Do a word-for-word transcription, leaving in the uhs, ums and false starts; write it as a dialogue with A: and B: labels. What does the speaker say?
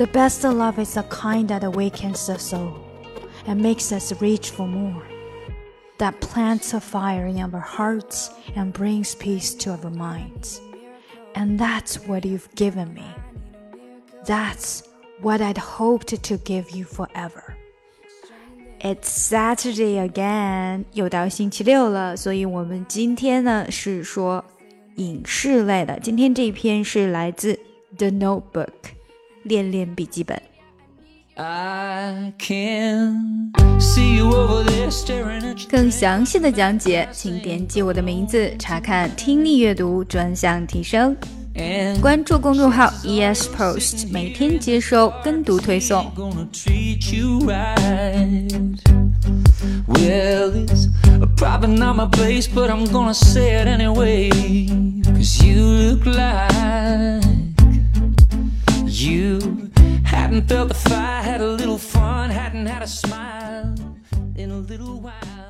A: The best love is the kind that awakens the soul and makes us reach for more, that plants a fire in our hearts and brings peace to our minds. And that's what you've given me. That's what I'd hoped to give you forever. It's Saturday again, 又到星期六了，所以我们今天呢是说影视类的。今天这一篇是来自 The Notebook 恋恋笔记本。更详细的讲解，请点击我的名字查看听力阅读专项提升。关注公众号 E S Post， 每天接收跟读推送。Well, it's probably not my place, but I'm gonna say it anyway. Cause you look like you hadn't felt the fire, had a little fun, hadn't had a smile in a little while.